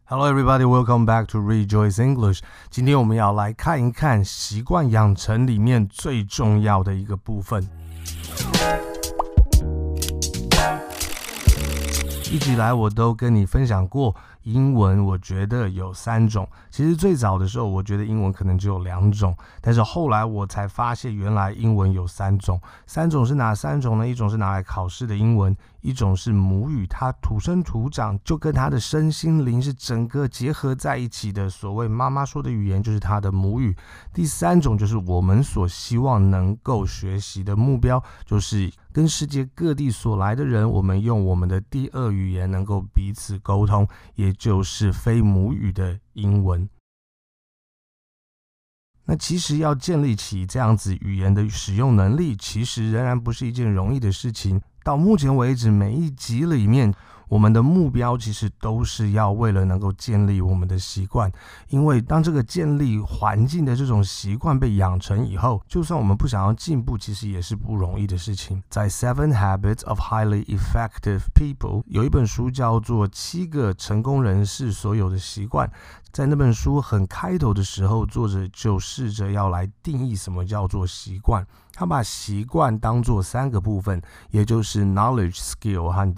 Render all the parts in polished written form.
Hello everybody, welcome back to Rejoice English. 今天我们要来看一看习惯养成里面最重要的一个部分。一直以来我都跟你分享过，英文我觉得有3种。其实最早的时候我觉得英文可能只有2种，但是后来我才发现原来英文有3种。3种是哪3种呢？一种是拿来考试的英文，一种是母语，它土生土长就跟他的身心灵是整个结合在一起的，所谓妈妈说的语言就是他的母语。第3种就是我们所希望能够学习的目标，就是跟世界各地所来的人，我们用我们的第2语言能够彼此沟通，也就是非母语的英文。那其实要建立起这样子语言的使用能力，其实仍然不是一件容易的事情。到目前为止，每一集里面我们的目标其实都是要为了能够建立我们的习惯，因为当这个建立环境的这种习惯被养成以后，就算我们不想要进步，其实也是不容易的事情。在 Seven Habits of Highly Effective People 有一本书叫做7个成功人士所有的习惯，在那本书很开头的时候，作者就试着要来定义什么叫做习惯。他把习惯当作3个部分，也就是 knowledge、skill 和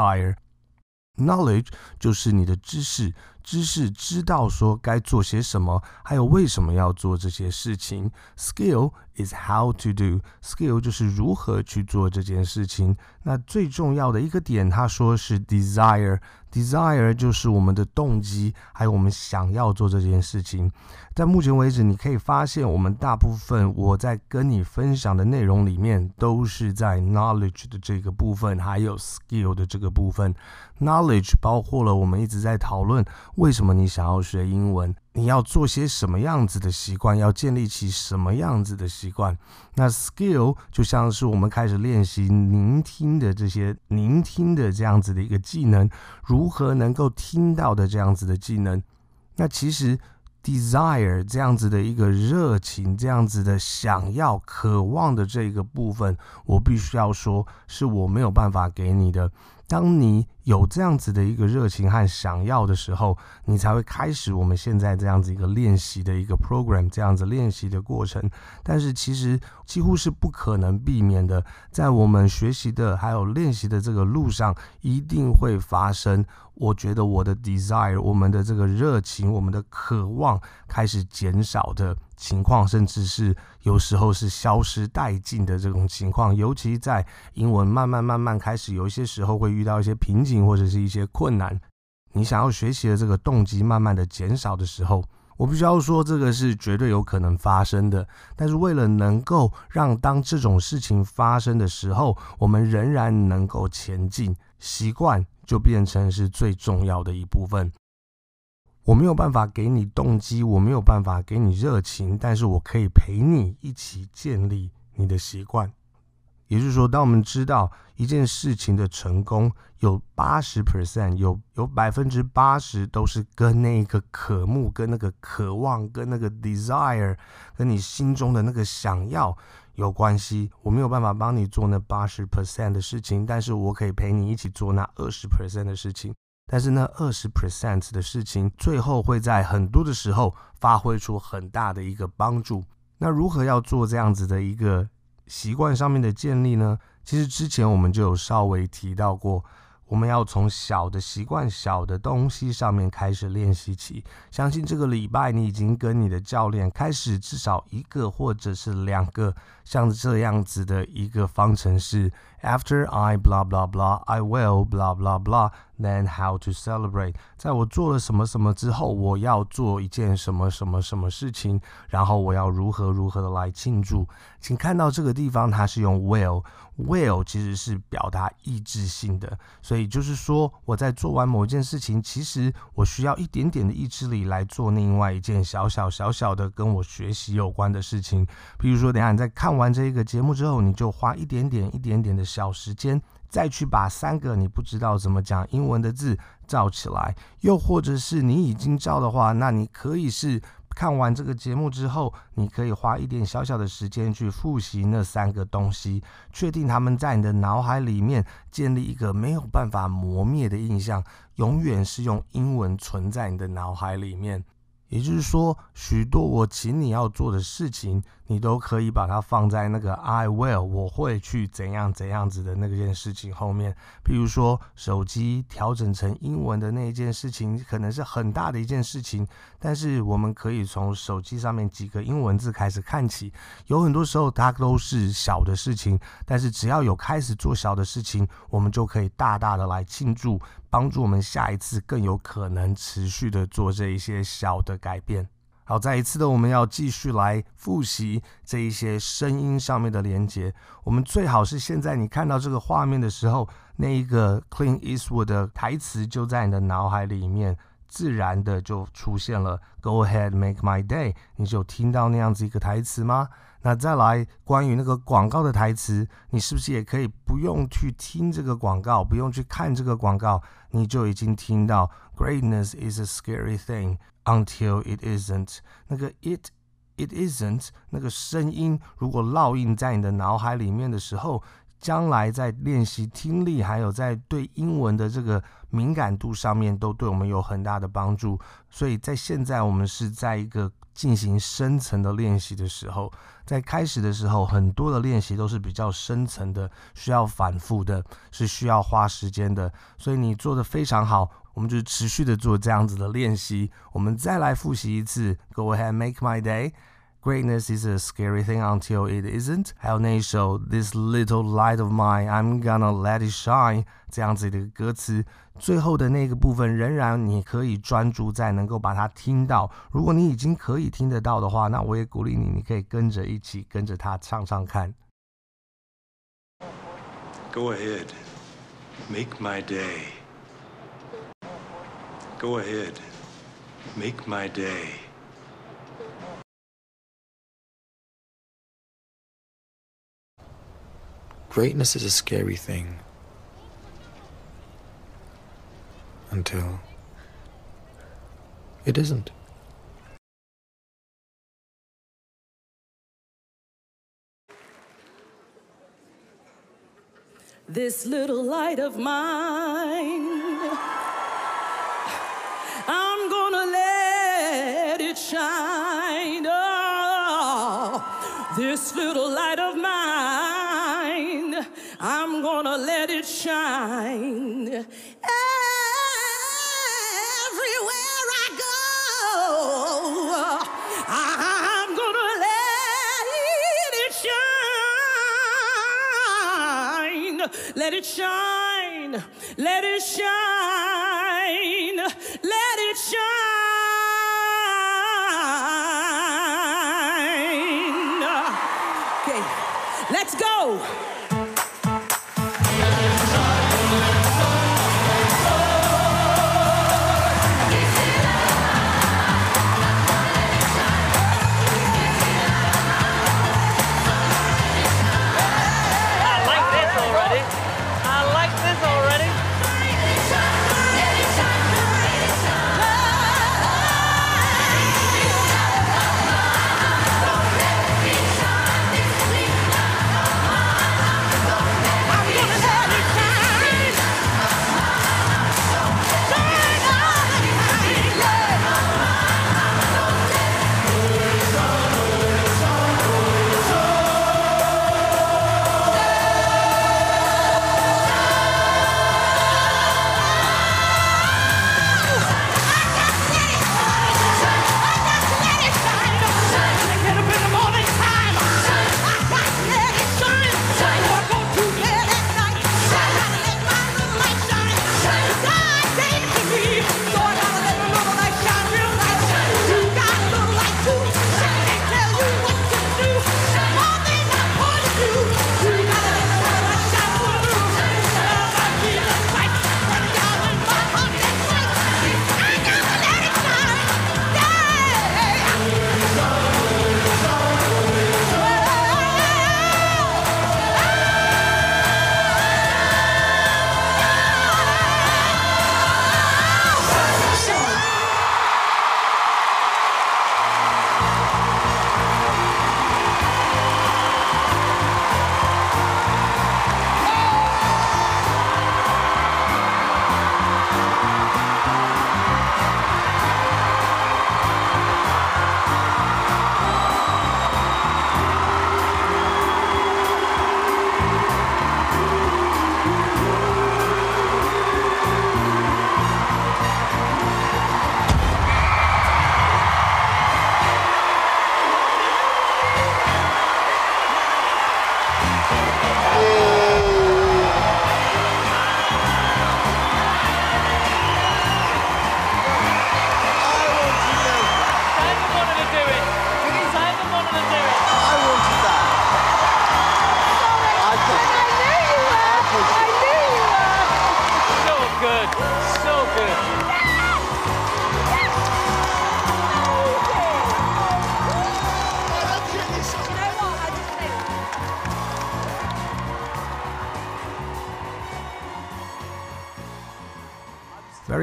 desire。Knowledge 就是你的知识知道说该做些什么，还有为什么要做这些事情。Skill is how to do. Skill 就是如何去做这件事情。那最重要的一个点，他说是 desire。Desire 就是我们的动机，还有我们想要做这件事情。在目前为止，你可以发现我们大部分我在跟你分享的内容里面，都是在 knowledge 的这个部分，还有 skill 的这个部分。Knowledge 包括了我们一直在讨论为什么你想要学英文，你要做些什么样子的习惯，要建立起什么样子的习惯。那 skill 就像是我们开始练习聆听的这样子的一个技能，如何能够听到的这样子的技能。那其实 desire 这样子的一个热情，这样子的想要渴望的这个部分，我必须要说是我没有办法给你的。当你有这样子的一个热情和想要的时候，你才会开始我们现在这样子一个练习的一个 program， 这样子练习的过程。但是其实几乎是不可能避免的，在我们学习的还有练习的这个路上，一定会发生。我觉得我的 desire， 我们的这个热情，我们的渴望开始减少的情况，甚至是有时候是消失殆尽的这种情况。尤其在英文慢慢开始有一些时候会遇到一些瓶颈或者是一些困难，你想要学习的这个动机慢慢的减少的时候，我必须要说这个是绝对有可能发生的。但是为了能够让当这种事情发生的时候，我们仍然能够前进，习惯就变成是最重要的一部分。我没有办法给你动机，我没有办法给你热情，但是我可以陪你一起建立你的习惯。也就是说，当我们知道一件事情的成功有 80%， 有 80% 都是跟那个渴慕，跟那个渴望，跟那个 desire， 跟你心中的那个想要有关系。我没有办法帮你做那 80% 的事情，但是我可以陪你一起做那 20% 的事情。但是那 20% 的事情最后会在很多的时候发挥出很大的一个帮助。那如何要做这样子的一个习惯上面的建立呢？其实之前我们就有稍微提到过，我们要从小的习惯、小的东西上面开始练习起。相信这个礼拜你已经跟你的教练开始至少1个或者是2个像这样子的一个方程式。After I blah blah blah, I will blah blah blah, then how to celebrate. 在我做了什么什么之后，我要做一件什么什么什么事情，然后我要如何的来庆祝。请看到这个地方，它是用 will 其实是表达意志性的，所以就是说我在做完某件事情，其实我需要一点点的意志力来做另外一件小小的跟我学习有关的事情。比如说等一下你在看完这个节目之后，你就花一点点的小时间，再去把3个你不知道怎么讲英文的字照起来。又或者是你已经照的话，那你可以是看完这个节目之后，你可以花一点小小的时间去复习那3个东西，确定他们在你的脑海里面建立一个没有办法磨灭的印象，永远是用英文存在你的脑海里面。也就是说，许多我请你要做的事情，你都可以把它放在那个 I will 我会去怎样怎样子的那件事情后面。比如说手机调整成英文的那一件事情，可能是很大的一件事情，但是我们可以从手机上面几个英文字开始看起。有很多时候它都是小的事情，但是只要有开始做小的事情，我们就可以大大的来庆祝，帮助我们下一次更有可能持续的做这一些小的改变。好，再一次的我们要继续来复习这一些声音上面的连结。我们最好是现在你看到这个画面的时候，那一个 Clint Eastwood 的台词就在你的脑海里面自然的就出现了 Go ahead make my day， 你就听到那样子一个台词吗？那再来关于那个广告的台词，你是不是也可以不用去听这个广告，不用去看这个广告，你就已经听到 Greatness is a scary thing until it isn't。 那个 it isn't 那个声音如果烙印在你的脑海里面的时候，将来在练习听力还有在对英文的这个敏感度上面都对我们有很大的帮助。所以在现在我们是在一个进行深层的练习的时候，在开始的时候很多的练习都是比较深层的，需要反复的，是需要花时间的，所以你做得非常好，我们就持续的做这样子的练习。我们再来复习一次 Go ahead make my day， Greatness is a scary thing until it isn't， 还有那一首 This little light of mine I'm gonna let it shine 这样子的歌词。最后的那个部分仍然你可以专注在能够把它听到，如果你已经可以听得到的话，那我也鼓励你，你可以跟着一起跟着它唱唱看。 Go ahead make my day， Go ahead make my day。 Greatness is a scary thing until it isn't. This little light of mine, I'm gonna let it shine. Oh, this little light of mine, I'm gonna let it shine. Everywhere I go, I'm gonna let it shine. Let it shine, let it shine, let it shine. Okay, let's go.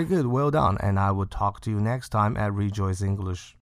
Very good, well done, and I will talk to you next time at Rejoice English.